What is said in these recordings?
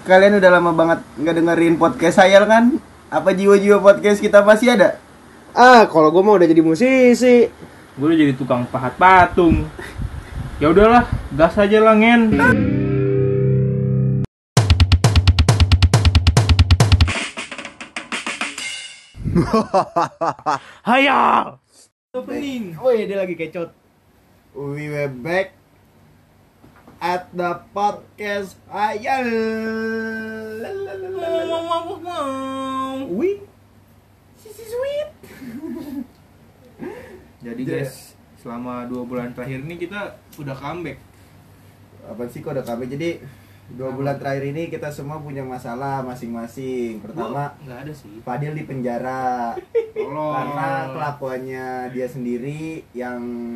Kalian udah lama banget nggak dengerin podcast saya kan? Apa jiwa-jiwa podcast kita masih ada? Kalau gue mau udah jadi musisi. Gue udah jadi tukang pahat patung. Ya udahlah, gas aja lah ngen. Hayal. Opening. Oh iya, dia lagi kecot. We were back at the podcast Ayal. Wih. Jadi guys, selama 2 bulan terakhir ini kita udah comeback. Apa sih kok udah kami? Jadi 2 bulan terakhir ini kita semua punya masalah masing-masing. Pertama, Nggak ada sih. Fadil di penjara Tolong. karena kelakuannya dia sendiri yang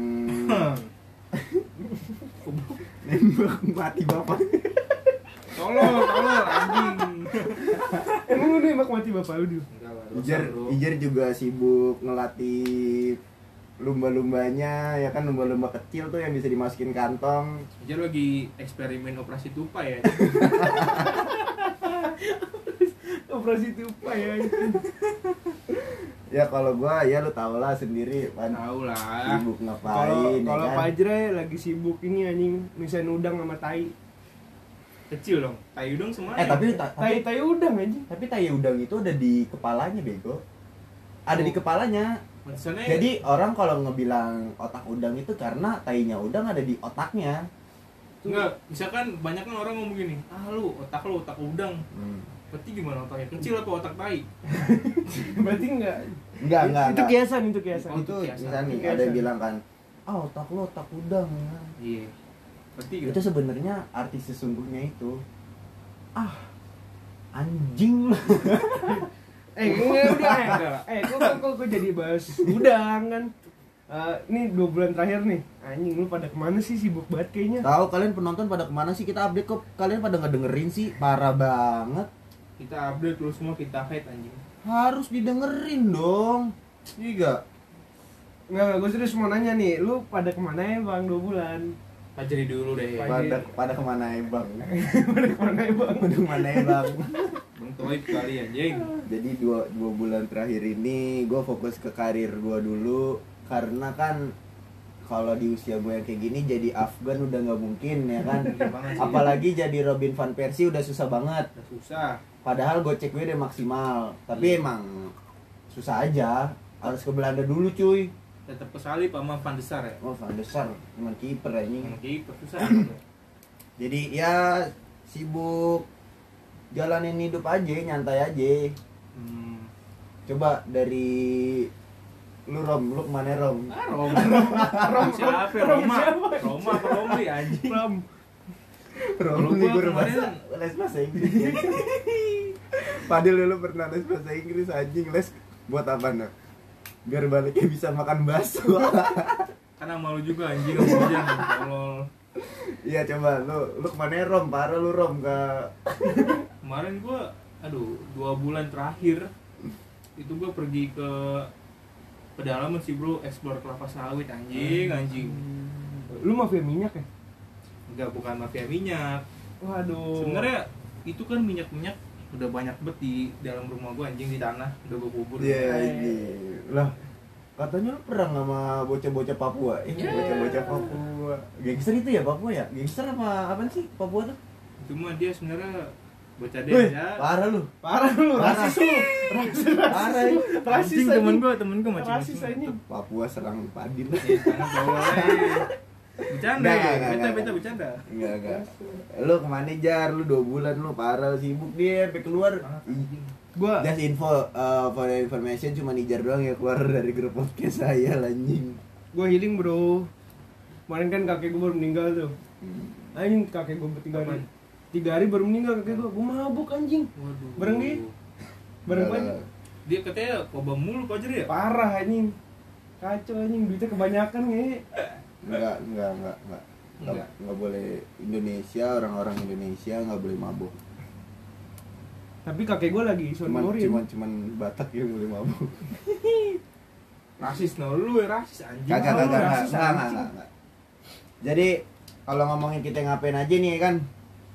nembak mati bapak. Tolong anjing. Emang lu nembak mati bapak lu? Enggak lah, dosa, bro. Ijer juga sibuk ngelatih lumba-lumbanya, ya kan, lumba-lumba kecil tuh yang bisa dimasukin kantong. Ijer lagi eksperimen operasi tupai ya. Operasi tupai ya. Ya kalau gua ya lu tau lah sendiri kan, Tahu lah. sibuk ngapain ya Kalau kan? Pajre lagi sibuk ini anjing, misain udang sama tai. Kecil dong. Tai udang semuanya. Tapi Tai udang anjing. tai udang itu ada di kepalanya, bego. Ada di kepalanya. Maksudnya Jadi orang kalau ngebilang otak udang itu karena tainya udang ada di otaknya. enggak, misalkan banyak kan orang ngomong gini, lu otak udang. Berarti gimana otaknya? Kecil apa otak tai? Berarti enggak. Enggak. Itu kiasan, itu kiasan. Oh, Itu kiasan. misalnya nih, Kiasan. ada yang bilang kan, otak lo otak udang. Iya. Berarti Itu sebenarnya arti sesungguhnya itu anjing. Udah. Kok jadi bahas udang kan? Ini 2 bulan terakhir nih. Anjing, lu pada kemana sih, sibuk banget kayaknya. Tahu kalian penonton pada kemana sih? Kita update kok, kalian pada nggak dengerin sih, parah banget. kita update terus semua, kita hate anjing. Harus didengerin dong. Iya. Enggak, gue serius mau nanya nih, lu pada kemana ya bang 2 bulan? Pajari dulu deh. Pada kemana ya bang? Pada kemana ya bang? Pada kemana ya bang? Bang Toib kali anjing. Jadi dua bulan terakhir ini gue fokus ke karir gue dulu, karena kan kalau di usia gue yang kayak gini jadi Afgan udah nggak mungkin ya kan. Iya banget sih. Apalagi jadi Robin van Persie udah susah banget. Udah susah. Padahal gocek gue udah maksimal, tapi emang susah aja. Harus ke Belanda dulu cuy. Tetap kesalip sama Van de Sar ya. Oh, Van der Sar, emang kiper anjing. Yang kiper susah. Jadi ya sibuk jalanin hidup aja, nyantai aja. Coba dari lu Rom, lu kemana Rom? Rom siapa? Roma apa Romli anjing? Kalau Rom nih gua guru kemarin- les bahasa Inggris. Padahal lu pernah les bahasa Inggris anjing, les buat apa nak? Biar baliknya bisa makan bakso. Karena malu juga anjing sama hujan. Tolol. Iya coba lu kemana Rom? Parah lu Rom ke Kemarin gua 2 bulan terakhir itu gua pergi ke pedalaman sih bro, explore kelapa sawit anjing. Lu mafia minyak ya? Enggak, bukan mafia minyak. Waduh. Sebenarnya itu kan minyak udah banyak banget di dalam rumah gua anjing, di tanah udah gua kubur. Iya ini lah, katanya lu perang sama bocah-bocah Papua. Iya. Bocah-bocah Papua. Gangster itu ya Papua ya? Gangster apa sih Papua tuh? Cuma dia sebenarnya bocah Wih, desa. parah lu. Parah lu, Parah. rasis lu. Parah. Rasis Anjing, anjing. temen gua Rasis macam-macam. anjing. Papua serang Padil. Iya, jangan tolol. Bercanda Enggak, ya, enggak. beta bercanda. Enggak. Lu kemana Jar? Lu 2 bulan lu parah sibuk dia sampai keluar. Gua Just info for your information cuma Nijar doang ya keluar dari grup podcast saya anjing. healing bro. Kemarin kan kakek gue baru meninggal tuh. Anjing, kakek gue 3 hari. 3 hari baru meninggal kakek gue. Gue mabuk anjing. Waduh. Bareng dia. Bareng Enggak, banget. Dia katanya kobam mulu Pajer ya? Parah anjing. Kacau anjing, duitnya kebanyakan nge. Enggak. Enggak. Enggak boleh Indonesia, orang-orang Indonesia enggak boleh mabuk. Tapi kakek gue lagi sonorin. Cuman Batak yang boleh mabuk. Rasis lu ya, rasis anjing. Kagak. rasis, anjing. Jadi kalau ngomongin kita ngapain aja nih kan,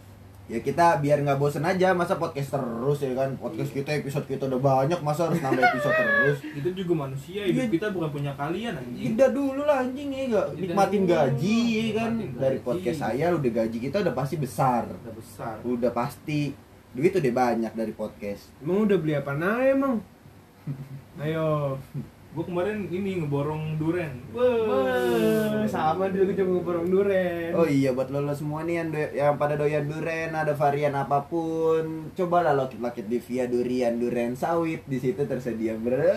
ya kita biar nggak bosen aja, masa podcast terus ya kan, podcast kita episode kita udah banyak, masa harus nambah episode terus. Itu juga manusia, hidup kita bukan punya kalian anjing. Tidak dulu lah anjing ya gak, Tidak nikmatin dulu, gaji ya kan, nikmatin dari gaji. podcast saya udah gaji kita udah pasti besar, Udah besar. udah pasti duit udah banyak dari podcast. Emang udah beli apa nah emang? Ayo. Gue kemarin ini ngeborong duren. Wah, sama dulu juga ngeborong duren. Oh iya, buat lo semua nih yang pada doyan duren, ada varian apapun, cobalah lokit-lokit di via duren sawit, di situ tersedia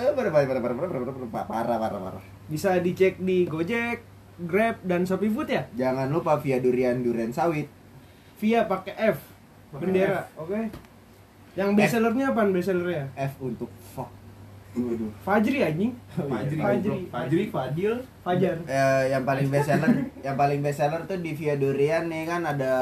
parah. Bisa dicek di Gojek, Grab dan Shopee Food ya? Jangan lupa via duren sawit. Via pakai F. Pakai Bendera, oke. Yang bestsellernya apaan bestsellernya? F untuk fuck. Waduh. Fajri anjing. Fajri, Fadil. Fajar. Yang paling best seller tuh di via durian nih kan, ada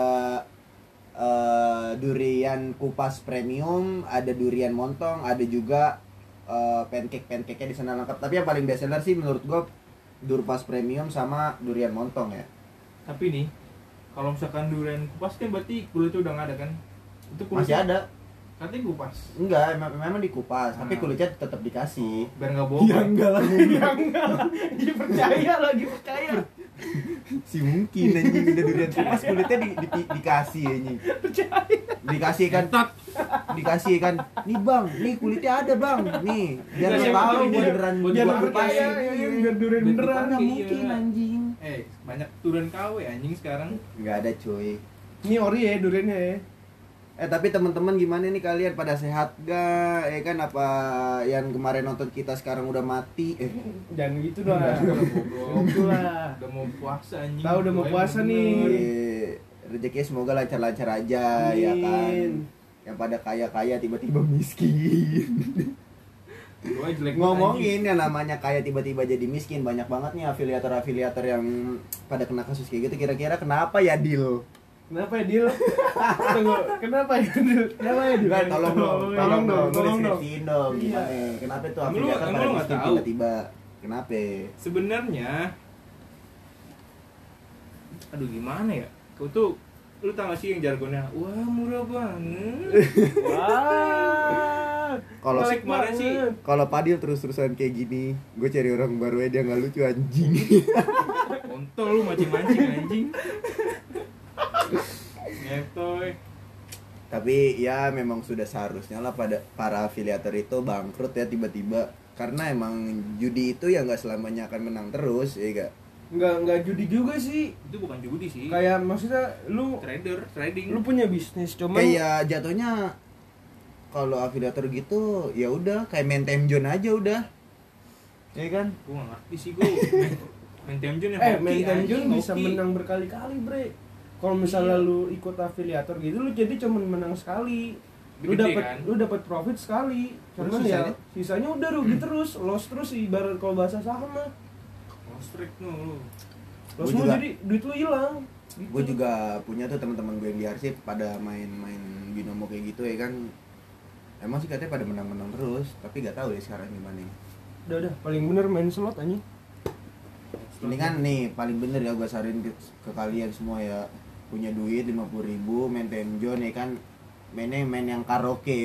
durian kupas premium, ada durian montong, ada juga pancake-nya di sana lengkap. Tapi yang paling best seller sih menurut gua Durpas premium sama durian montong ya. Tapi nih, kalau misalkan durian kupas kan berarti kulitnya udah nggak ada kan? Itu Masih kulitnya ada. katanya kupas. Enggak, memang dikupas, tapi Ah. kulitnya tetap dikasih. Biar nggak bohong. enggak lah. Ya enggak lah. Dia percaya lagi percaya. Si mungkin anjing udah durian kupas kulitnya dikasih anjing. Dikasih kan. Dikasih kan. Nih Bang, nih kulitnya ada Bang. Nih, biar lo Dikasih tahu kulitnya, beneran buat Biar gua percaya pakai. ya, biar durian Biar beneran. dipakai. Mungkin Iya. anjing. Banyak turun KW anjing sekarang. Enggak ada cuy. Ini ori ya duriannya ya. Tapi teman-teman gimana nih kalian, pada sehat gak? Ya kan, apa yang kemarin nonton kita sekarang udah mati? Jangan gitu dong. Goblok. Itulah. Udah mau puasa anjing. Tahu udah mau Doain puasa bener. nih. Rezekinya semoga lancar-lancar aja ya kan. Amin. Yang pada kaya-kaya tiba-tiba miskin. Doa jelek banget, Ngomongin yang namanya kaya tiba-tiba jadi miskin, banyak banget nih afiliator yang pada kena kasus kayak gitu. Kira-kira kenapa ya, Dil? Kenapa ya Dil? Tunggu, kenapa ya Dil? Kenapa ya Dil? Enggak, tolong dong, Tolong dong. deskripsiin dong gimana? Kenapa tuh Emang lu- afiliator emang pada lu nggak miskin tahu? tiba-tiba? Kenapa? Sebenarnya aduh gimana ya? Kau tuh lu tau gak sih yang jargonnya wah murah banget. Wah. Kalau Jelek kemarin sih, banget. Kalau Padil terus-terusan kayak gini, gue cari orang baru aja, dia nggak lucu anjing. kontol lu mancing-mancing anjing. Ngetoy. Tapi ya memang sudah seharusnya lah pada para afiliator itu bangkrut ya tiba-tiba, karena emang judi itu ya nggak selamanya akan menang terus, ya gak? Enggak judi juga sih. Itu bukan judi sih. Kayak maksudnya lu Trading. punya bisnis cuman Kayak jatuhnya kalau afiliator gitu ya udah kayak main time zone aja udah, ya kan? Gua gak ngerti sih gua. Main time zone yang hoki, main time anjing, zone bisa hoki. menang berkali-kali, Bre. Kalau misalnya lu ikut afiliator gitu, lu jadi cuma menang sekali. Lu Gede, dapat kan? lu dapat profit sekali. Terus Cuman sisanya? ya sisanya udah rugi terus, loss terus ibarat kalau bahasa saham mah. Ostrek lu. Loss Gua lu juga- jadi duit lu hilang. Gitu. Gue juga punya tuh teman-teman gue yang di arsip pada main binomo kayak gitu ya kan. Emang sih katanya pada menang-menang terus, tapi gak tahu deh sekarang gimana. Udah, paling bener main slot anjing. Ini kan nih paling bener ya, gue saranin ke kalian semua ya, punya duit 50.000 main time zone ya kan, main yang karaoke,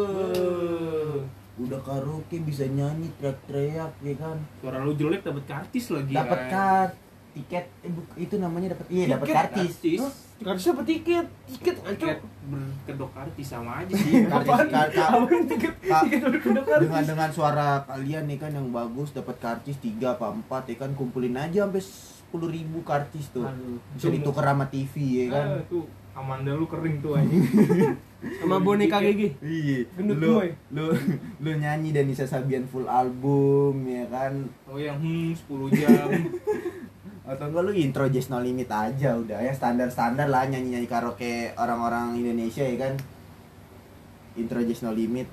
udah karaoke bisa nyanyi teriak-teriak ya kan, Suara lu jelek dapat kartis lagi. dapat kan. tiket itu namanya dapat dapat Tiket, kartis. kartis. Hah? Kartisnya apa tiket? Tiket ancok. Tiket berkedok kartis sama aja sih. Kartis Apaan tiket? Kak, Tiket udah kedok kartis. dengan suara kalian nih kan yang bagus, dapat kartis 3 apa 4 ya kan, kumpulin aja sampai 10.000 kartis tuh. Aduh. Bisa ditukar sama TV ya kan. Tuh Amanda lu kering tuh anjing. Sama boneka GG. Iya, Gendut lu, boy. lu nyanyi dan Nisa Sabian full album ya kan, Oh yang 10 jam. atau enggak lu intro Just No Limit aja udah ya, standar lah nyanyi karaoke orang-orang Indonesia ya kan, intro Just No Limit.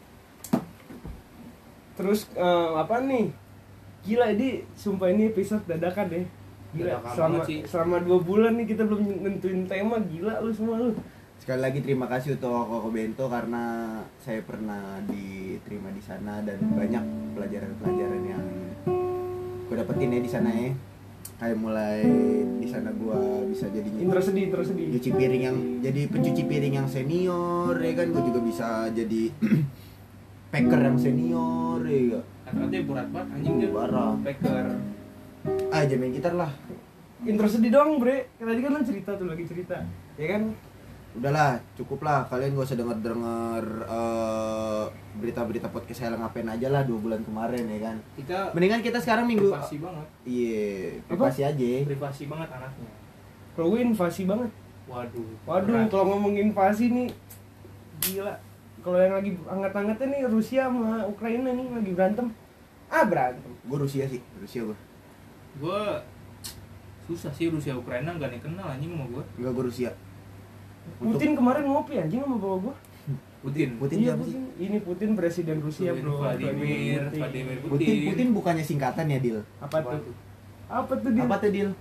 Terus apa nih? Gila ini, sumpah ini episode dadakan deh. Gila, Dadakan banget sih. selama 2 bulan nih kita belum nentuin tema, gila lu semua lu. Sekali lagi terima kasih untuk Koko Bento karena saya pernah diterima di sana dan banyak pelajaran-pelajaran yang gue dapetin ya di sana ya. kayak mulai di sana gua bisa jadi Intersedih. cuci piring yang jadi pencuci piring yang senior ya kan, gua juga bisa jadi packer yang senior ya. Kata-katanya berat banget anjing dia. Parah. Packer. Aja main gitar lah. Intersedih doang, Bre. Tadi kan lu cerita tuh lagi cerita. Ya kan? Udahlah, cukup lah. Kalian gak usah denger berita-berita podcast saya ngapain aja lah 2 bulan kemarin ya kan. Mendingan kita sekarang minggu. Privasi banget. Iya, privasi aja. Privasi banget anaknya. Kalau gue invasi banget. Waduh. Waduh, kalau ngomong invasi nih gila. Kalau yang lagi hangat-hangatnya nih Rusia sama Ukraina nih lagi berantem. Berantem. Gue Rusia sih, Rusia gue. Gue susah sih Rusia Ukraina nggak nih kenal anjing sama gue. Enggak, gue Rusia. Putin kemarin ngopi anjing sama bawa gua. Putin Iya, siapa sih? Putin. Ini Putin presiden Rusia, Bro. Vladimir Putin bukannya singkatan ya, Dil? Apa tuh? Apa tuh dia? Apa tuh, Dil?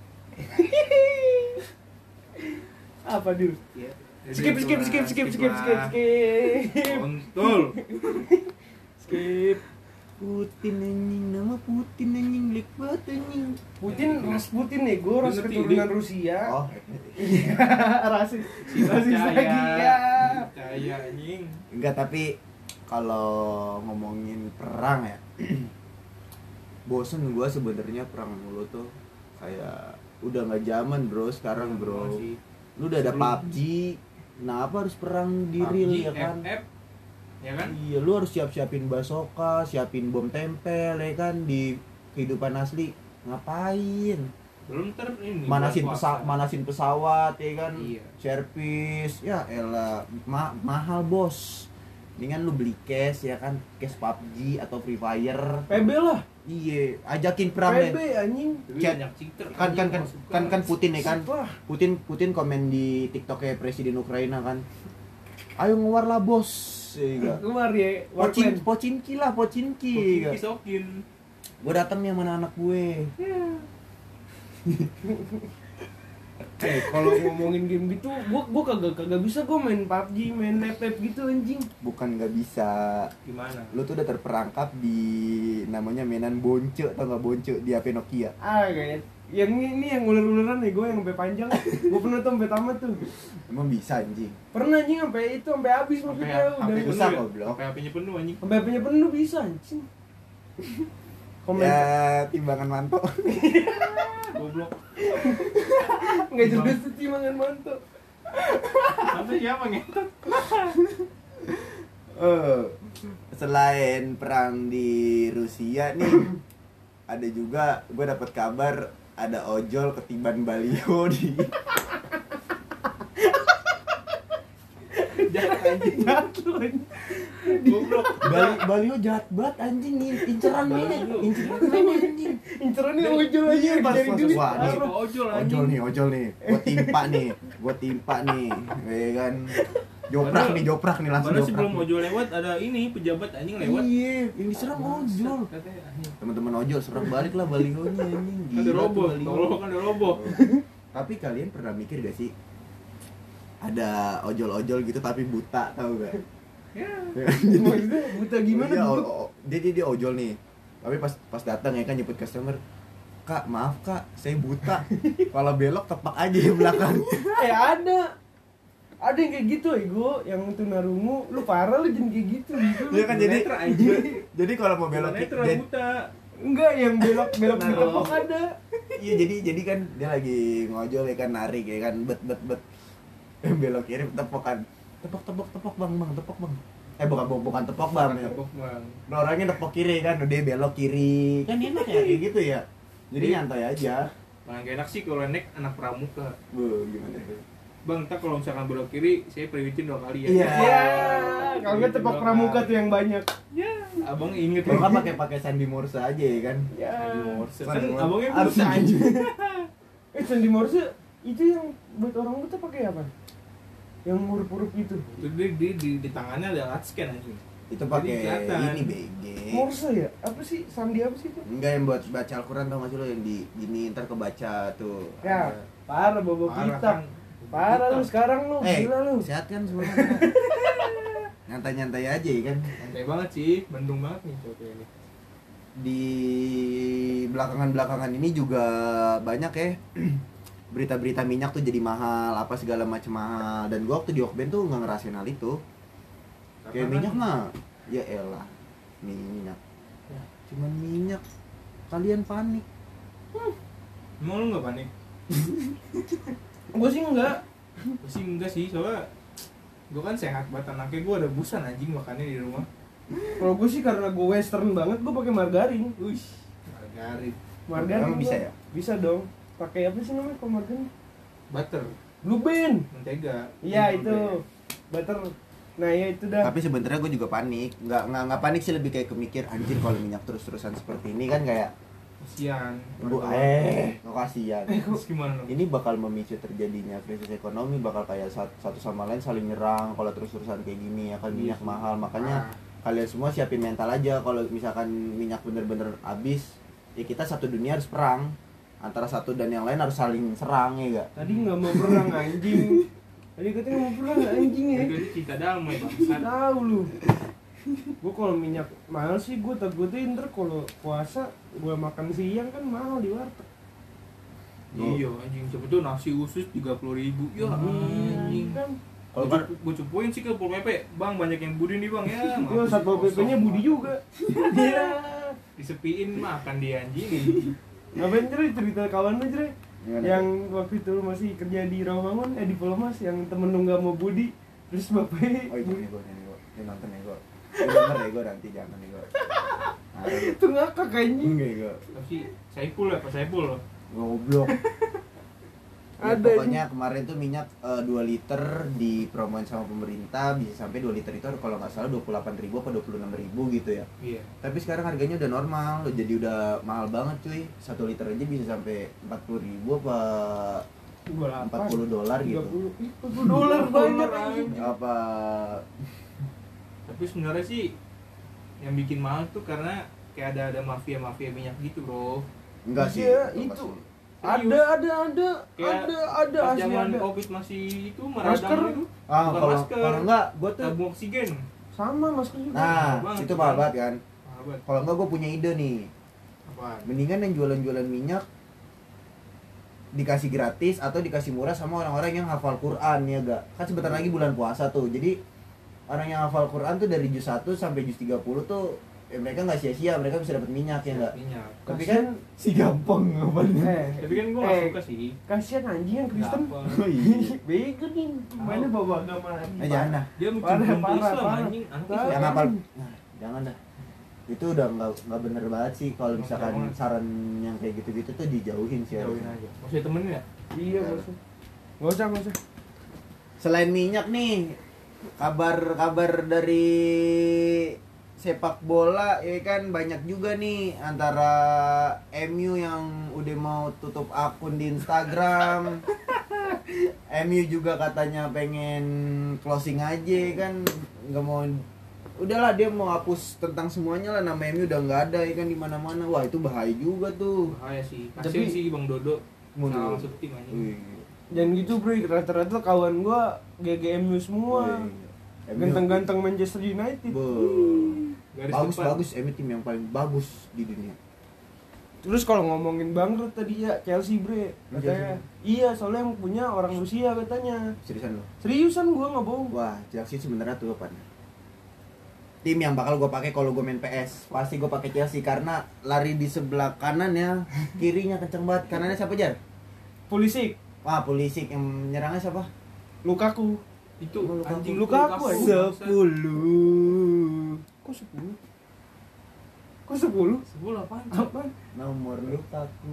Apa dia? Ya. Skip. Kontol. Skip. Putin anjing, nama Putin anjing, lik banget anjing. Putin ras Putin nih, gue ras Ngerti, keturunan Dik. Rusia. Oh, rasis lagi ya. Percaya anjing. enggak, tapi kalau ngomongin perang ya, bosen gua sebenarnya perang mulu tuh. Kayak udah nggak zaman bro sekarang bro. Masih. Lu udah ada PUBG, kenapa harus perang di real PUBG, ya kan? FF, ya kan? Iya, lu harus siapin bazooka, siapin bom tempel ya kan di kehidupan asli. Ngapain? Belum ini. Manasin pesawat ya kan? Iya. Servis, ya elah mahal bos. Mendingan lu beli cash ya kan, cash PUBG atau Free Fire. PB lah. Iya, ajakin perang PB deh. anjing. Chat. Banyak cheater. Kan Putin ya kan. Wah. Putin komen di TikTok kayak presiden Ukraina kan. Ayo ngewar lah bos. Ya, Keluar ya. Warclan. Pocinki lah, Pocinki. Kisokin. Gue datang nih sama anak gue. Kalau ngomongin game gitu, gua kagak bisa gua main PUBG, main laptop gitu anjing. Bukan nggak bisa. Gimana? Lu tuh udah terperangkap di namanya mainan bonce, tau nggak bonce di HP Nokia. Kayak yang ini yang ular-ularan nih, gue yang sampai panjang. Gue pernah tuh sampai tamat tuh. Emang bisa anjing. Pernah anjing sampai habis maksudnya udah Bisa kok, Bro. HP-nya penuh anjing. sampai HP-nya penuh bisa anjing. Komen Ya, timbangan manto. Goblok. enggak jelas tuh timbangan manto. Sampai siapa ngetot? Selain perang di Rusia nih, ada juga gue dapat kabar ada ojol ketiban baliho di Jahat anjing. Goblok. baliho jahat banget anjing, inceran nih, anjing. Inceran nih ojol aja Iya, pas dari masuk. duit. Wah, nih. Ojol nih, gue timpa nih, ya kan. Joprak nih langsung Padahal joprak. sebelum ojol lewat ada ini pejabat anjing lewat. Iya, yang diserang ojol. Katanya anjing. Teman-teman ojol serang balik lah balihonya anjing. Ada Gila tuh roboh, baliho. tolong kan ada roboh. Tapi kalian pernah mikir gak sih ada ojol-ojol gitu tapi buta, tau gak? Ya. Maksudnya buta gimana Iya, tuh? dia ojol nih. Tapi pas datang ya kan nyebut customer, "Kak, maaf Kak, saya buta." Kalau belok tepak aja di belakang. Ada yang kayak gitu yang tunarungu, lu parah lu jangan kayak gitu. Iya kan, jadi Netra, anjing. jadi kalau mau belok Netra buta. Enggak, yang belok Nah, ditepok ada. Iya, jadi kan dia lagi ngojol ya kan, narik ya kan, bet belok kiri tepok kan. Tepok bang, tepok bang. Bukan tepok bang. Ya. Tepok bang. Nah, orangnya tepok kiri kan, udah belok kiri. Kan enak ya kayak gitu ya. Jadi nyantai aja. Bang enak sih kalau naik anak pramuka. Gimana ya? Bang, tak kalau misalkan belok kiri, saya periwitin 2 kali ya. Iya. Ya, kalau nggak tepok pramuka tuh yang banyak. Ya, abang inget. Kalau kan pakai Sandi Morse aja ya kan. Ya. Kan abangnya Harus buta anjing. Sandi Morse itu yang buat orang buta pakai apa? Yang huruf-huruf gitu. Itu di tangannya ada alat scan anjing. Itu pakai Jadi kelihatan. ini BG. Morse ya? Apa sih? Sandi apa sih itu? Enggak, yang buat baca Al-Quran, tau gak sih lo yang di gini ntar kebaca tuh. Ya, Ada. parah bobo Parah kita. kan. Parah lu sekarang lu, gila lu. Sehat kan semuanya. Nyantai-nyantai aja ya kan. Santai banget sih, mendung banget nih cowok ini. di belakangan ini juga banyak ya berita-berita minyak tuh jadi mahal, apa segala macam mahal. Dan gua waktu di Okben tuh nggak ngerasain hal itu. Kayak minyak mah, ya elah, minyak. Cuman minyak, kalian panik. Emang lu nggak panik? Gue sih enggak. Gua sih enggak sih, soalnya gue kan sehat banget, anaknya gue ada busan anjing makannya di rumah. Kalau gue sih karena gue western banget, gue pakai margarin. Wih, margarin. Margarin Emang bisa gua- ya? Bisa dong. Pakai apa sih namanya kalau margarin? Butter, Blue Band. mentega. Iya itu. Butter. Nah ya itu dah. Tapi sebenarnya gue juga panik. Nggak panik sih, lebih kayak kemikir anjir kalau minyak terus-terusan seperti ini kan kayak Kasian. gua kasihan. Terus gimana lu? Ini bakal memicu terjadinya krisis ekonomi, bakal kayak satu sama lain saling nyerang kalau terus-terusan kayak gini ya kan, minyak mahal. Makanya kalian semua siapin mental aja kalau misalkan minyak bener-bener habis, ya kita satu dunia harus perang. Antara satu dan yang lain harus saling serang ya gak? Tadi nggak mau perang anjing. Tadi katanya mau perang anjing ya. Jadi cinta damai bangsat. Tahu lu. Gue kalau minyak mahal sih gue takutnya ntar kalau puasa gue makan siang kan mahal di warteg. Iya anjing, siapa tuh nasi usus 30.000. Ya anjing. Kan. Kalau kan Gue cupuin sih ke Pol PP, bang banyak yang budi nih bang ya. Gue satpol PP-nya Budi juga. Iya. Disepiin makan dia anjing. Ngapain Jre cerita kawan lu Jre? Gimana? Yang waktu itu lu masih kerja di Rawamangun, di Pulomas yang temen lu nggak mau Budi, terus bapaknya oh ini gue ini nonton ya gue. Denger ya gue nanti jangan nih gue. itu ngakak anjing. Enggak gue. Tapi Saipul ya, Pak Saipul. Goblok. Ya, Ada pokoknya kemarin tuh minyak 2 liter dipromoin sama pemerintah bisa sampai 2 liter itu kalau nggak salah 28.000 apa 26.000 gitu ya. Iya. Tapi sekarang harganya udah normal, jadi udah mahal banget cuy. 1 liter aja bisa sampai 40.000 apa 40 dolar gitu. 30 dolar banyak anjing. Apa Tapi sebenarnya sih yang bikin mahal tuh karena kayak ada mafia minyak gitu bro. enggak sih? Iya, Apa itu. sih? Ada Kayak ada Pas asli zaman ada. covid masih itu Masker. meradang itu. Ah, Bukan kalau masker. kalau enggak gua tuh Tabung oksigen. Sama masker juga. nah, Mahal banget, itu kan? mahal banget kan. Mahal banget. Kalau enggak gua punya ide nih. Apaan? Mendingan yang jualan-jualan minyak dikasih gratis atau dikasih murah sama orang-orang yang hafal Quran ya gak? Kan sebentar lagi bulan puasa tuh. Jadi orang yang hafal Quran tuh dari juz 1 sampai juz 30 tuh ya mereka nggak sia-sia, mereka bisa dapat minyak ya enggak? Minyak. Tapi kan si gampang ngapain? Tapi kan gue gak suka sih. Kasihan anjing yang Kristen. Kenapa? Oh iya. Bego nih. Mana bawa agama lagi. Jangan dah. Dia Parah, mencium parah, Islam parah. anjing. Anak Parah. Islam. Yang hafal nah, jangan dah. Itu udah nggak bener banget sih kalau misalkan Jangan. saran yang kayak gitu-gitu tuh dijauhin sih Jauhin harusnya. aja. Maksudnya temenin ya? Iya, nggak usah. Nggak usah. Selain minyak nih, kabar dari sepak bola ya kan banyak juga nih, antara MU yang udah mau tutup akun di Instagram. MU juga katanya pengen closing aja kan, nggak mau, udahlah dia mau hapus tentang semuanya lah, nama MU udah nggak ada ya kan di mana-mana. Wah itu bahaya juga tuh. Bahaya sih. Tapi- Kasian sih Bang Dodo. Mundur. Salah masuk tim anjing. Wih, Jangan gitu bro, rata-rata kawan gua GGMU semua. wih. Ganteng-ganteng Manchester United. Garis Bagus depan. bagus, MU tim yang paling bagus di dunia. Terus kalau ngomongin bangkrut tadi ya Chelsea bre, katanya. Iya, soalnya yang punya orang Rusia katanya. Seriusan lo? Seriusan gua nggak bohong. Wah, Chelsea sebenarnya tuh apa? Tim yang bakal gue pakai kalau gue main PS. Pasti gue pakai Chelsea karena lari di sebelah kanan ya, kirinya kenceng banget. Kanannya siapa Jar? Pulisic, Wah, Pulisic. Yang nyerangnya siapa? Lukaku. Itu Lukaku. anjing Lukaku, Lukaku. anjing. 10. Kok 10? Kok 10? 10 apaan? Apa? Nomor Lukaku.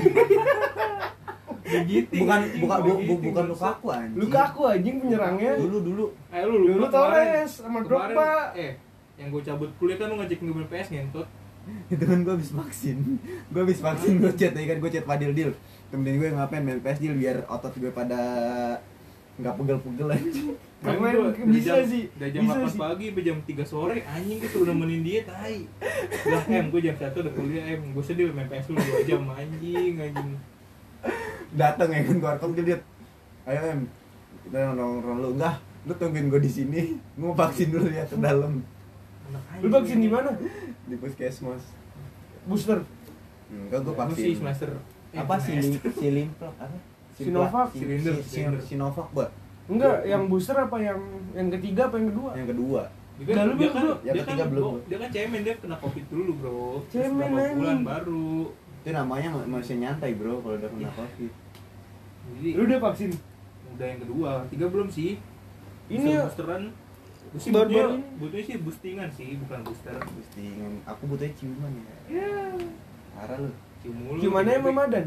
Begitu. Bukan Lukaku anjing. Lukaku anjing penyerangnya. Dulu. Lu Dulu lupa Torres sama kemarin, Drogba. yang gue cabut kuliah kan lu ngajak gue main PS ngentot. Itu kan gue habis vaksin. Gue chat ya kan, gue chat Fadil Dil. Temen gue ngapain main PS Dil biar otot gue pada nggak pegel-pegel anjing. Keren, Gua bisa dari sih, Dari jam bisa 8 sih. pagi sampai jam 3 sore anjing gitu udah nemenin dia tai. Lah gue jam 1 udah kuliah gue sedih main PS dulu 2 jam anjing. Datang ya kan, gue rekam dia, ayo kita nongkrong lu, enggak, lu tungguin gue di sini, mau vaksin dulu ya ke dalam. Anak Lu vaksin di mana? Di puskesmas. Booster. Enggak, gue Gue sih vaksin. semester Apa Sinovac apa? Sinovac. Sinovac gua. Enggak, yang booster apa yang ketiga apa yang kedua? Yang kedua. Dia kan, Lalu dia belum, kan, bro. Yang dia ketiga kan, belum. dia kan cemen, dia kena covid dulu bro. Terus Cemen, berapa anjing. bulan baru. Itu namanya manusia nyantai bro kalau udah kena covid. Jadi Lu udah vaksin? udah yang kedua, tiga belum sih. Ini ya, boosteran. Gue sih baru-baru ini. butuhnya sih boostingan sih, bukan booster. Boostingan. Aku butuhnya ciuman ya. ya. Parah lu. Cium mulu. Gimana ya Mamadan?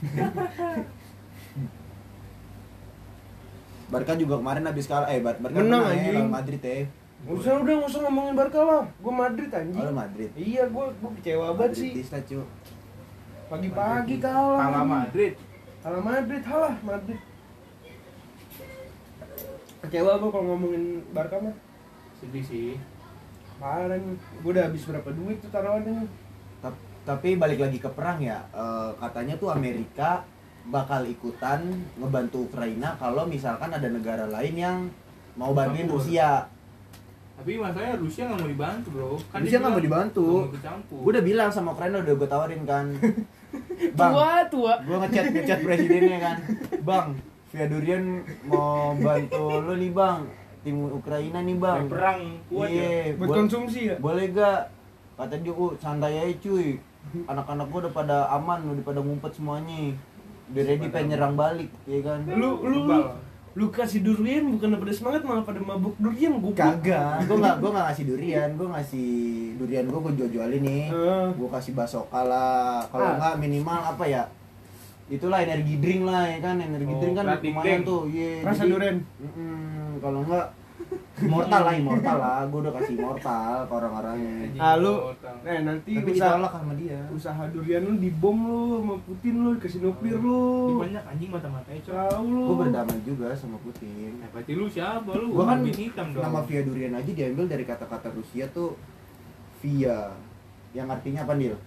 Barca juga kemarin habis kalah. Barca Menang, menang ya anjing. lawan Madrid ya. Udah nggak usah ngomongin Barca lah. Gue Madrid anjing. Oh, lu Madrid. Iya, gue kecewa banget sih. Madridista, cu. Pagi-pagi kalah. Kalah Madrid. Kalah Madrid, halah Madrid. Kecewa gue kalau ngomongin Barca mah. Sedih sih. Parah nih. Gue udah habis berapa duit tuh taruhannya. Tapi balik lagi ke perang ya. Katanya tuh Amerika bakal ikutan ngebantu Ukraina kalau misalkan ada negara lain yang mau bantuin Campur. Rusia. Tapi masalahnya Rusia nggak mau dibantu bro. Kan Rusia nggak mau dibantu. Gue udah bilang sama Ukraina, udah gue tawarin kan. Bang, Tua. gue ngechat presidennya kan. Bang, Via Durian mau bantu lo nih bang, tim Ukraina nih bang. Perang kuat ya. Iya, Buat konsumsi ya? boleh gak? Kata dia, santai aja cuy. Anak-anak gue udah pada aman, udah pada ngumpet semuanya. Udah ready pengen nyerang balik, ya kan? Lu kasih durian bukan pada semangat malah pada mabuk durian gue. Kagak, gue nggak ngasih durian, gue ngasih durian gue jual-jualin nih. Gue kasih basoka lah, kalau nggak minimal apa ya? Itulah energi drink lah ya kan, energi drink kan Protein lumayan drink. tuh. Iya. Rasa jadi- durian. Kalau nggak immortal lah, gue udah kasih immortal ke orang-orangnya. Lu nanti Tapi usaha ditolak sama dia. durian lu dibom lu sama Putin lu, dikasih nuklir lu. Banyak anjing mata-matanya coy. Tahu lu. Gue berdamai juga sama Putin. Berarti lu siapa lu? Gua kan Babi hitam dong. Nama Via Durian aja diambil dari kata-kata Rusia tuh Via, yang artinya apa Nil?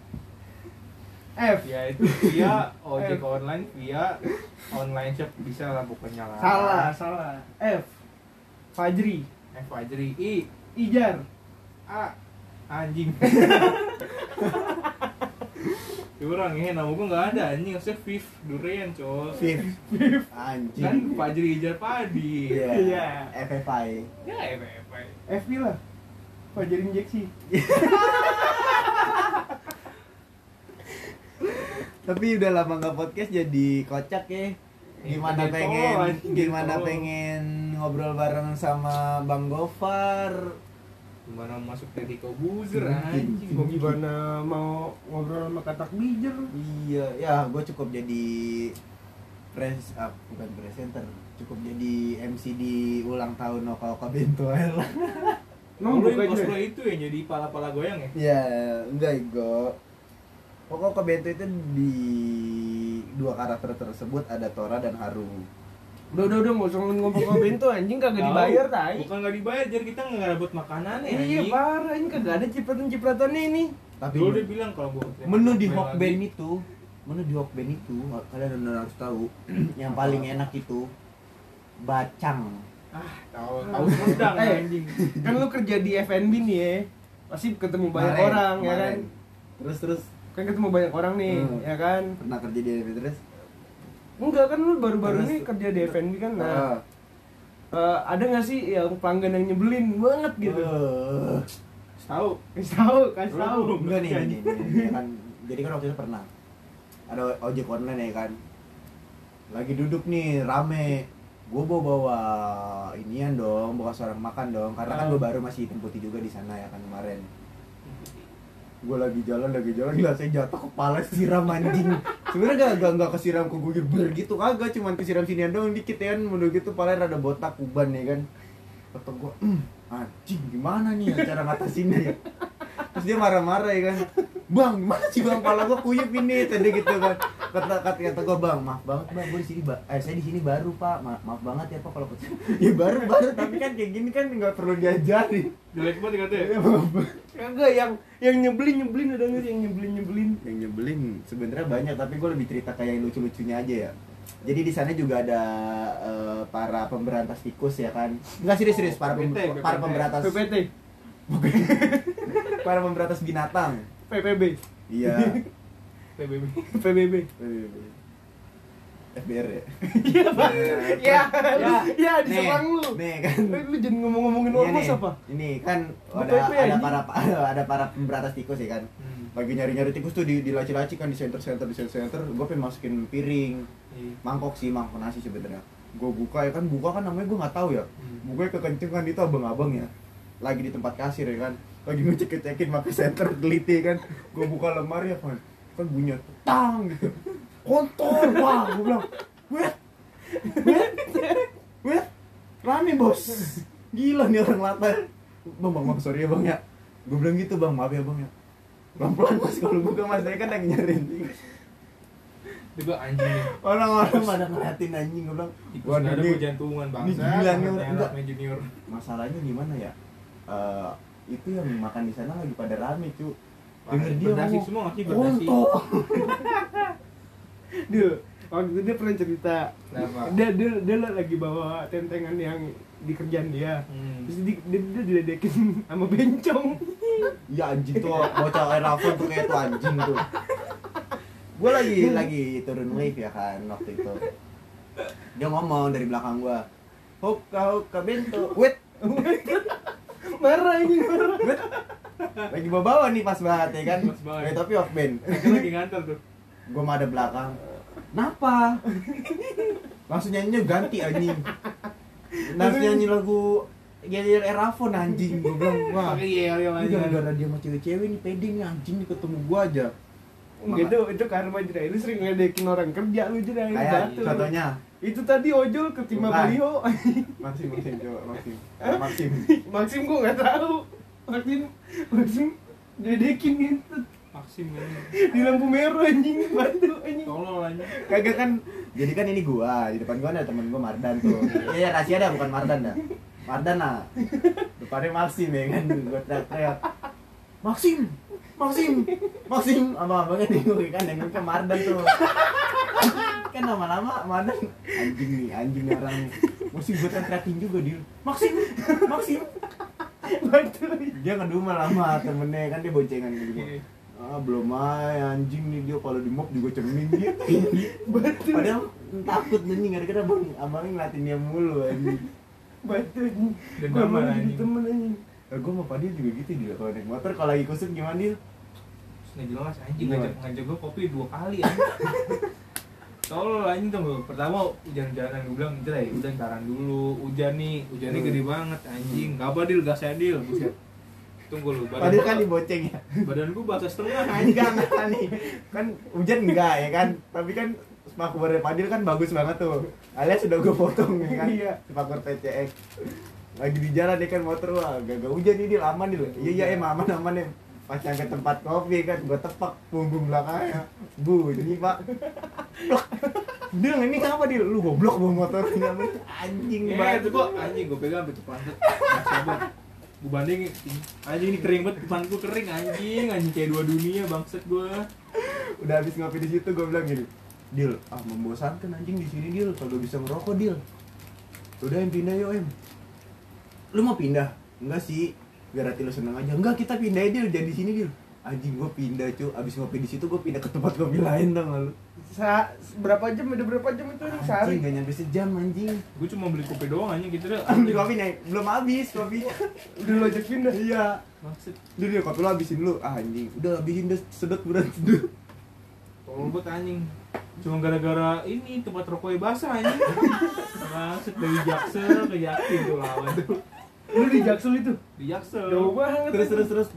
F. Ya itu via ojek online, via online shop bisa lah pokoknya lah. Salah. F. Fajri. Fajri. I Ijar. A anjing. Curang ya, nama gua nggak ada anjing, harusnya Viv Durian coy. Viv. Anjing. Kan Fajri Ijar Padi. Iya. FFI. Ya FF. F lah. Fajri injeksi. Tapi udah lama nggak podcast jadi kocak ya. Gimana Jadi pengen tolol, anjing, gimana tolol. pengen ngobrol bareng sama Bang Gofar. Gimana masuk Deddy Kobuzer Mungkin. anjing. Mau gimana mau ngobrol sama katak bijer. Iya, ya gue cukup jadi bukan presenter, cukup jadi MC di ulang tahun Oka Oka Bento lah. Lu Nombok yang aja. cosplay itu yang jadi pala-pala goyang ya? Ya, enggak Igo. Oka Oka Bento itu di dua karakter tersebut ada Tora dan Haru. Udah nggak usah ngomong bento anjing kagak dibayar tai. Bukan nggak dibayar, jadi kita nggak dapat makanan ya. Iya parah, ini kagak ada cipratan-cipratannya ini. Tapi Dulu dia bilang kalau gua menu di Hokben itu, kalian benar harus tahu, yang paling enak itu bacang. tahu sendang anjing. Kan lu kerja di F&B nih ya. Pasti ketemu banyak Kemarin, orang ya kan. Terus Kan ketemu banyak orang nih, ya kan. pernah kerja di FNB terus? Enggak kan lu baru-baru Terus- ini kerja di F&B kan. Nah, Ah. ada nggak sih yang pelanggan yang nyebelin banget gitu? Tahu. Kasih tahu. Enggak nih, ya kan. Jadi kan waktu itu pernah ada ojek online ya kan. Lagi duduk nih rame. Gue bawa inian dong, bawa seorang makan dong. Karena kan gue baru masih hitam putih juga di sana ya kan kemarin. Gue lagi jalan gelasnya jatuh kepala siram anjing. Sebenarnya gak kesiram ke gue ber gitu kagak, cuman kesiram sinian doang dikit ya kan. Menurut gitu pala rada botak kuban ya kan. Kata gue, anjing gimana nih ya cara ngatasinnya ya. Terus dia marah-marah ya kan. Bang, gimana sih bang, pala gue kuyup ini tadi gitu kan. Kata gue, bang, maaf banget bang, gue di sini saya di sini baru pak, maaf banget ya pak kalau ya baru tapi kan kayak gini kan nggak perlu diajarin. Jelek banget katanya. Kagak yang nyebelin ada nggak sih yang nyebelin? Yang nyebelin sebenarnya banyak, tapi gue lebih cerita kayak yang lucu-lucunya aja ya. Jadi di sana juga ada para pemberantas tikus ya kan. Enggak serius para PPT. pemberantas PPT. para pemberantas binatang. PPB. Iya. PBB. PBB. FBR ya. Iya, Pak. Ya. Ya, di Nih, Semarang lu. nih kan. Lu jangan ngomong-ngomongin Iya ormas nih, apa? Ini kan Gua ada PP anjing. ada para pemberantas tikus ya kan. Lagi nyari-nyari tikus tuh di laci-laci kan, di center. Gue pengen masukin piring. Iya. Mangkok nasi sebenarnya. Gue buka kan namanya gue nggak tahu ya. Bukanya kekenceng kan, itu abang-abang ya. Lagi di tempat kasir ya kan. Lagi ngecek-ngecekin pakai senter teliti kan. Gue buka lemari ya kan bunyinya tang gitu. Kontol, wah gue bilang, wait, rame bos, gila nih orang latar. Bang, sorry ya bang ya. Gue bilang gitu bang, maaf ya bang ya. Pelan-pelan mas, kalau buka mas saya kan lagi nyariin. Juga anjing nih. Orang-orang pada ngeliatin anjing, gue bilang, Tikus nggak ada gua jantungan bangsa. ini gila nih orang. Enggak. Enggak junior. Masalahnya gimana ya? Itu yang makan di sana lagi pada rame cu. Denger dia Berdasi ngomong, semua ngasih berdasi. kontol. Dia waktu itu dia pernah cerita. Kenapa? Dia lagi bawa tentengan yang di kerjaan dia. Terus dia diledekin sama bencong. Iya anjing tuh, bocah Erafon tuh kayak tuh anjing tuh. Gue lagi turun lift ya kan waktu itu. Dia ngomong dari belakang gua, Hoka bento, wait, Marah ini, marah. wait. Lagi bawa nih pas banget ya kan. Pas banget. Tapi off band. Kan lagi ngantor tuh. Gua mah ada belakang. Napa? Langsung nyanyinya ganti anjing. Langsung nyanyi lagu Gelir Erafon anjing. Gua bilang, wah. Pakai yel Ini aja. gara-gara dia sama cewek-cewek nih pede nih anjing nih ketemu gua aja. Itu karma Jera. Lu sering ngedekin orang kerja lu Jera. Kayak Batu. contohnya Itu tadi ojol ketimpa Bukan. baliho. Maxim coba Maxim. Maxim gua nggak tahu. Maxim diledekin gitu Maxim kan. di lampu merah anjing, batu anjing. Tolol aja. Kagak kan. Jadi kan ini gua, di depan gua ada temen gua Mardan tuh. Iya, rahasia dah bukan Mardan dah. Mardan lah. Depannya Maxim ya kan. Gua teriak. Maxim. Abang-abangnya bingung kan yang ke Mardan tuh. Kan lama-lama Mardan anjing nih orang. Mesti gua teriakin juga dia. Maxim. Batu. Dia ngedumel sama temennya kan, dia boncengan gitu. Iya. Belum aja anjing nih dia kalau di mob juga cermin gitu. Batu. Padahal takut anjing gara-gara abangnya ngeliatin dia mulu anjing. Batu anjing. Dan Gua nama, mau jadi anjing. temen anjing. Gue sama Fadil juga gitu dia kalau naik motor, kalau lagi kusut gimana dia? Nggak jelas anjing, Gimana? ngajak gua kopi 2 kali anjing. Tolol anjing tuh gua. Pertama hujan-hujanan gua bilang udah taran dulu. Hujannya gede banget anjing. Gak apa Dil, gas ya Dil. Buset. Tunggu lu. Fadil kan dibonceng ya. Badan gua basah setengah Anjing anjing. kan nih. Kan hujan enggak ya kan? Tapi kan spakbor Fadil kan bagus banget tuh. Alias sudah gue potong ya kan. Iya. Spakbor PCX. Lagi di jalan dia kan motor, wah gak hujan nih dia aman dia. Iya aman ya. Pas nyampe tempat kopi kan gua tepak punggung belakangnya. Bunyi Pak. Blok. Dia ini kenapa dia? Lu goblok bawa motor anjing Itu banget. gua anjing gua pegang sampai pantat. Enggak sabar. Gua bandingin anjing ini kering banget, depan gua kering anjing kayak 2 dunia bangsat gua. Udah habis ngopi di situ gua bilang gini, Dil, membosankan anjing di sini Dil, kalau bisa ngerokok Dil. Udah pindah yuk Lu mau pindah? Enggak sih, biar hati lu seneng aja. Enggak, kita pindah aja Dil, jadi di sini Dil. Anjing gua pindah cu, abis ngopi di situ gua pindah ke tempat kopi lain dong lu. Berapa jam itu anjing sehari? Anjing gak nyampe sejam anjing. Gua cuma beli kopi doang anjing gitu dah. Beli kopi nih, belum habis kopinya. Udah lo ajak pindah. Iya. Maksud Dil, kopi lu habisin lu. Anjing, udah habisin dah sedot berat sedot. tolol banget anjing. Cuma gara-gara ini tempat rokoknya basah anjing. Maksud dari Jaksel ke Yakin tuh lawan tuh. Lu di Jaksel itu? Di Jaksel. Jauh banget. Terus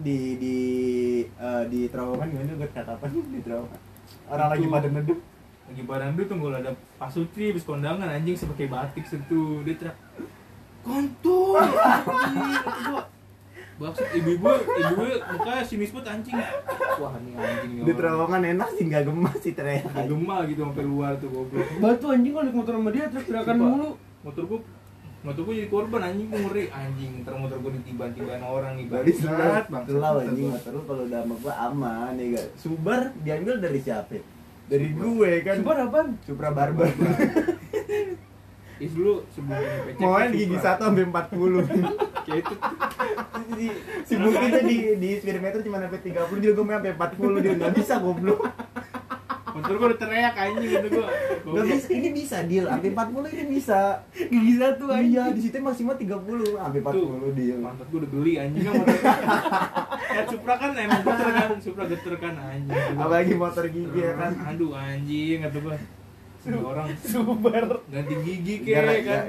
di terowongan gimana gue katakan di terowongan. Orang lagi Itu. pada neduh. Lagi barang dulu tunggu ada Pak Sutri habis kondangan anjing sebagai batik sentuh dia teriak kontol anjing kata gua maksud ibu-ibu mukanya sinis banget anjing wah ini anjing Di terowongan enak sih nggak gemas sih teriak. Gak gemah gitu sampai luar tuh goblok. Batu anjing kalau naik motor sama dia teriak-teriakan Sumpah. mulu. motor gua jadi korban anjing, gua ngeri anjing, ntar motor gua ditiban-tiban orang nih Dari selat, bang selau anjing motor lu kalau udah sama gua aman ya gak. Subar diambil dari siapa? Dari gue kan. Sumpah apaan? Supra Barbar. Is dulu sebelum PC Maunya gigi 1 sampai 40. Kayak itu Si Bukti tuh di speedometer cuma sampai 30, juga gue main sampai 40 dia nggak bisa goblok. motor gua udah teriak anjing gitu gua. Nggak bisa, ini bisa deal, sampai 40 ini bisa. Gigi satu aja. Iya, di situ maksimal 30, sampai 40 deal. Mantap gua udah geli anjing kan motor. Ya Supra kan emang geter kan, Supra geter kan anjing. Apalagi motor gigi ya kan. Aduh anjing kata gua. Semua orang Subar. ganti gigi Gara- kek kan.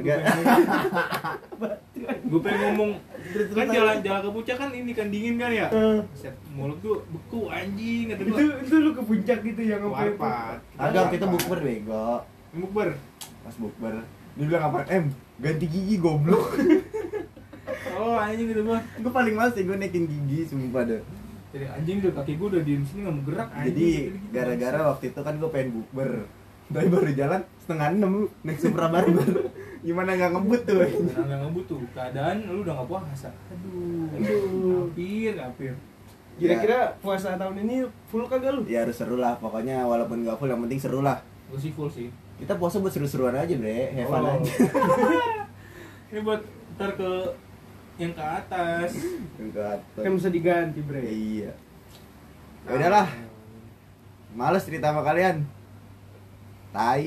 Gue pengen ngomong kan jalan ke puncak kan ini kan dingin kan ya. Set mulut tuh beku anjing kata gua. Itu lu ke puncak gitu yang sampai Warpat. Agak kita bukber bego. Bukber. Pas bukber, dia bilang apa? Ganti gigi goblok. Oh anjing gitu gua. Gue paling males sih gue naikin gigi sumpah deh. Jadi anjing udah kaki gua udah diem sini enggak mau gerak anjing. Jadi Gitu-gitu. gara-gara waktu itu kan gue pengen bukber. Tapi baru jalan setengah 6 naik Supra barbar. Gimana nggak ngebut tuh? Karena nggak ngebut tuh keadaan lu udah nggak puasa. Aduh. Hampir. Kira-kira puasa tahun ini full kagak lu? Ya harus seru lah, pokoknya walaupun nggak full yang penting seru lah. Gue sih full sih. Kita puasa buat seru-seruan aja bre, have fun Oh. aja. Ini buat ntar ke yang ke atas. Enggak. Kan bisa diganti, Bre. Iya. Ya udahlah, males cerita sama kalian. Tai.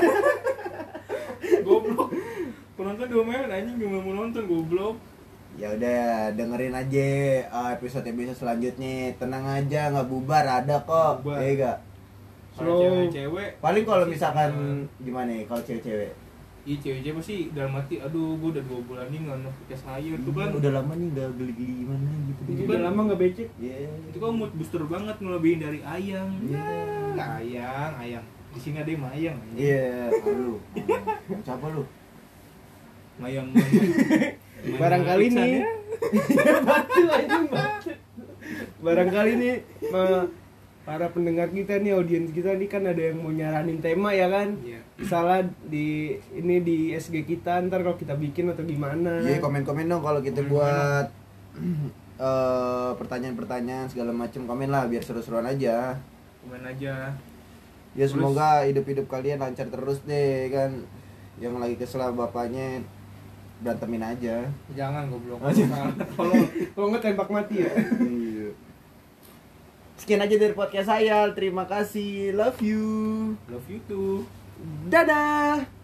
Goblok. Penonton diomelin anjing gak mau nonton goblok. Ya udah dengerin aja episode selanjutnya. Tenang aja, nggak bubar, ada kok. Bubar. Iya gak? Kalau Slow. cewek-cewek Paling kalau misalkan gimana ya kalau cewek-cewek? iya cewek-cewek pasti dalam hati aduh gue udah 2 bulan nih nggak pakai sayur tuh kan. Udah lama nih nggak geli-geli gimana gitu. Itu udah lama nggak becek. Iya. Itu kan mood booster banget ngelebihin dari ayang. Iya. Ayang. Di sini ada yang mayang. Iya, lu. Siapa lu? Mayang. Barangkali Iksan, nih. ya. Batu anjing batu. Barangkali nih para pendengar kita nih, audiens kita nih kan ada yang mau nyaranin tema ya kan? Iya. Salah di ini di SG kita ntar kalau kita bikin atau gimana. Iya, komen-komen dong kalau kita Komen buat pertanyaan-pertanyaan segala macam, komen lah biar seru-seruan aja. Komen aja. Ya semoga hidup-hidup kalian lancar terus deh kan. Yang lagi kesel sama bapaknya berantemin aja. Jangan goblok. Kalau nggak tembak mati ya. Iya. Sekian aja dari podcast saya. Terima kasih. Love you. Love you too. Dadah.